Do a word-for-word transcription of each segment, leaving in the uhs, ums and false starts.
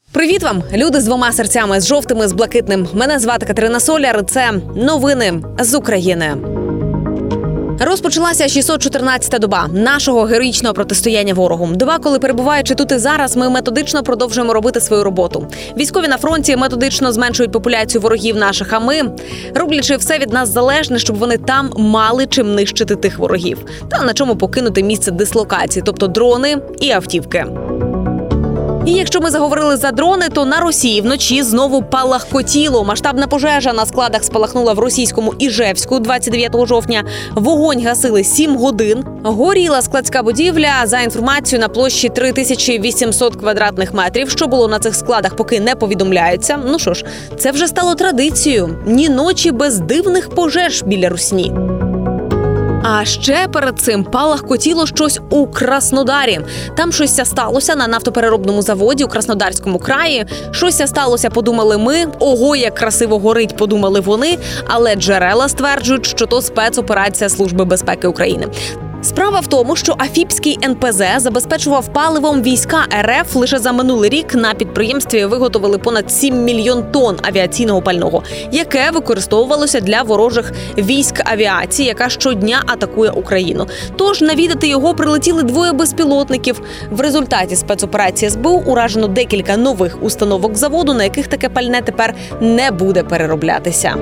Привіт вам, люди з двома серцями, з жовтими, з блакитним. Мене звати Катерина Соляр, це новини з України. Розпочалася шістсот чотирнадцята доба нашого героїчного протистояння ворогу. Доба, коли, перебуваючи тут і зараз, ми методично продовжуємо робити свою роботу. Військові на фронті методично зменшують популяцію ворогів наших, а ми, роблячи все від нас залежне, щоб вони там мали чим нищити тих ворогів. Та на чому покинути місце дислокації, тобто дрони і автівки. І якщо ми заговорили за дрони, то на Росії вночі знову палахкотіло. Масштабна пожежа на складах спалахнула в російському Іжевську двадцять дев'ятого жовтня. Вогонь гасили сім годин. Горіла складська будівля, за інформацією, на площі три тисячі вісімсот квадратних метрів. Що було на цих складах, поки не повідомляється. Ну що ж, це вже стало традицією. Ні ночі без дивних пожеж біля Русні. А ще перед цим палахкотіло щось у Краснодарі. Там щось сталося на нафтопереробному заводі у Краснодарському краї. Щось сталося, подумали ми. Ого, як красиво горить, подумали вони. Але джерела стверджують, що то спецоперація Служби безпеки України. Справа в тому, що Афіпський ен пе зе забезпечував паливом війська ер еф. Лише за минулий рік на підприємстві виготовили понад сім мільйон тонн авіаційного пального, яке використовувалося для ворожих військ авіації, яка щодня атакує Україну. Тож навідати його прилетіли двоє безпілотників. В результаті спецоперації ес бе у уражено декілька нових установок заводу, на яких таке пальне тепер не буде перероблятися.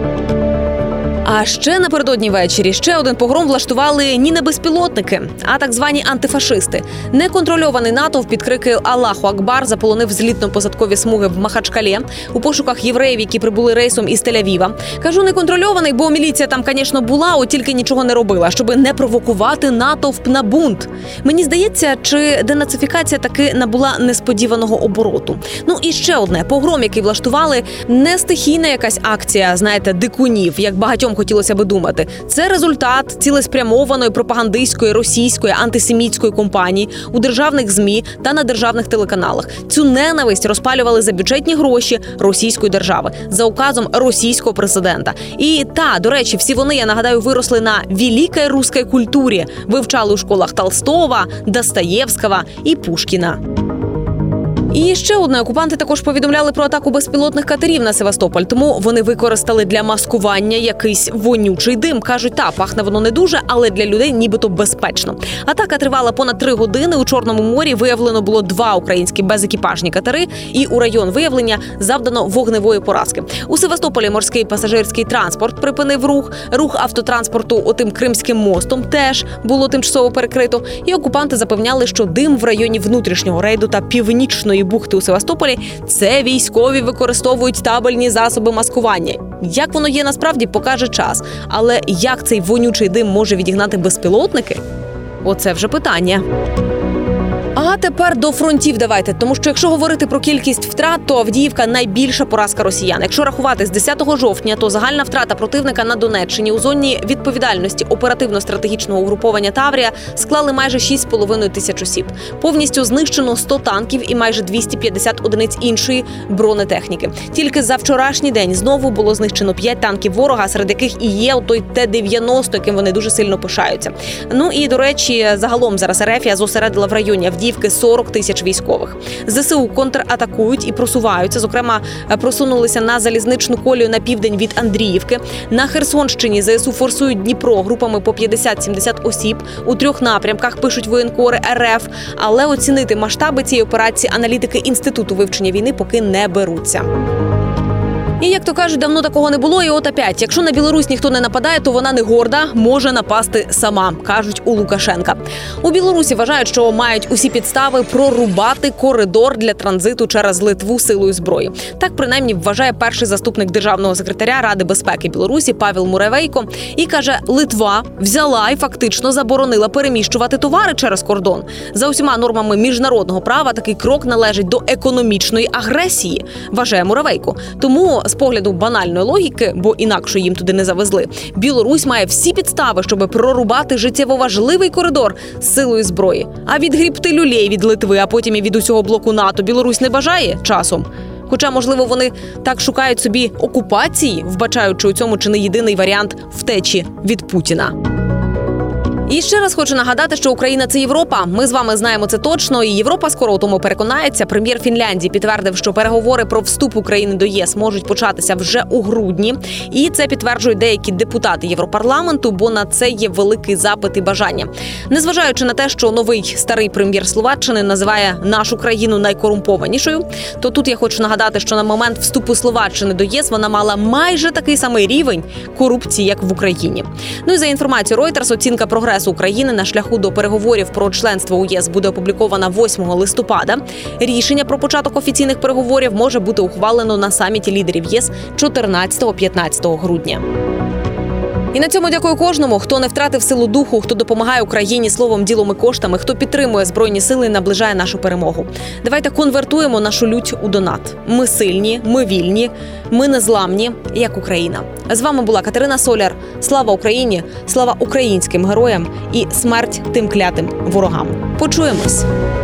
А ще напередодні ввечері ще один погром влаштували ні не безпілотники, а так звані антифашисти. Неконтрольований натовп під крики «Аллаху Акбар» заполонив злітно-посадкові смуги в Махачкалі у пошуках євреїв, які прибули рейсом із Тель-Авіва. Кажу неконтрольований, бо міліція там, звісно, була, от тільки нічого не робила, щоб не провокувати натовп на бунт. Мені здається, чи денацифікація таки набула несподіваного обороту. Ну і ще одне. Погром, який влаштували, не стихійна якась акція, знаєте, дикунів, як багатьом хотілося би думати. Це результат цілеспрямованої пропагандистської російської антисемітської кампанії у державних ЗМІ та на державних телеканалах. Цю ненависть розпалювали за бюджетні гроші російської держави, за указом російського президента. І та, до речі, всі вони, я нагадаю, виросли на великій русській культурі, вивчали у школах Толстого, Достоєвського і Пушкіна. І ще одне, окупанти також повідомляли про атаку безпілотних катерів на Севастополь, тому вони використали для маскування якийсь вонючий дим. Кажуть, та, пахне воно не дуже, але для людей нібито безпечно. Атака тривала понад три години. У Чорному морі виявлено було два українські безекіпажні катери, і у район виявлення завдано вогневої поразки. У Севастополі морський пасажирський транспорт припинив рух. Рух автотранспорту отим Кримським мостом теж було тимчасово перекрито. І окупанти запевняли, що дим в районі внутрішнього рейду та північної бухти у Севастополі – це військові використовують табельні засоби маскування. Як воно є насправді, покаже час. Але як цей вонючий дим може відігнати безпілотники? Оце вже питання. А тепер до фронтів давайте, тому що якщо говорити про кількість втрат, то Авдіївка – найбільша поразка росіян. Якщо рахувати з десятого жовтня, то загальна втрата противника на Донеччині у зоні відповідальності оперативно-стратегічного угруповання «Таврія» склали майже шість з половиною тисяч осіб. Повністю знищено сто танків і майже двісті п'ятдесят одиниць іншої бронетехніки. Тільки за вчорашній день знову було знищено п'ять танків ворога, серед яких і є той Т дев'яносто, яким вони дуже сильно пишаються. Ну і, до речі, загалом зараз РФ зосередила в районі Авдіївки сорок тисяч військових. зе се у контратакують і просуваються. Зокрема, просунулися на залізничну колію на південь від Андріївки. На Херсонщині зе ес у форсують Дніпро групами по п'ятдесят-сімдесят осіб. У трьох напрямках, пишуть воєнкори РФ. Але оцінити масштаби цієї операції аналітики Інституту вивчення війни поки не беруться. І, як то кажуть, давно такого не було, і от опять. Якщо на Білорусь ніхто не нападає, то вона не горда, може напасти сама, кажуть у Лукашенка. У Білорусі вважають, що мають усі підстави прорубати коридор для транзиту через Литву силою зброї. Так, принаймні, вважає перший заступник державного секретаря Ради безпеки Білорусі Павел Муравейко. І каже, Литва взяла і фактично заборонила переміщувати товари через кордон. За усіма нормами міжнародного права такий крок належить до економічної агресії, вважає Муравейко. Тому з погляду банальної логіки, бо інакше їм туди не завезли, Білорусь має всі підстави, щоб прорубати життєво важливий коридор з силою зброї. А відгрібти люлей від Литви, а потім і від усього блоку НАТО Білорусь не бажає часом. Хоча, можливо, вони так шукають собі окупації, вбачаючи у цьому чи не єдиний варіант втечі від Путіна. І ще раз хочу нагадати, що Україна – це Європа. Ми з вами знаємо це точно, і Європа скоро у тому переконається. Прем'єр Фінляндії підтвердив, що переговори про вступ України до ЄС можуть початися вже у грудні. І це підтверджують деякі депутати Європарламенту, бо на це є великий запит і бажання. Незважаючи на те, що новий старий прем'єр Словаччини називає нашу країну найкорумпованішою, то тут я хочу нагадати, що на момент вступу Словаччини до ЄС вона мала майже такий самий рівень корупції, як в Україні. Ну і за інформацією Reuters, оцінка прогресу України на шляху до переговорів про членство у ЄС буде опублікована восьмого листопада. Рішення про початок офіційних переговорів може бути ухвалено на саміті лідерів ЄС чотирнадцятого-п'ятнадцятого грудня. І на цьому дякую кожному, хто не втратив силу духу, хто допомагає Україні словом, ділом і коштами, хто підтримує Збройні сили і наближає нашу перемогу. Давайте конвертуємо нашу лють у донат. Ми сильні, ми вільні, ми незламні, як Україна. З вами була Катерина Соляр. Слава Україні, слава українським героям і смерть тим клятим ворогам. Почуємось!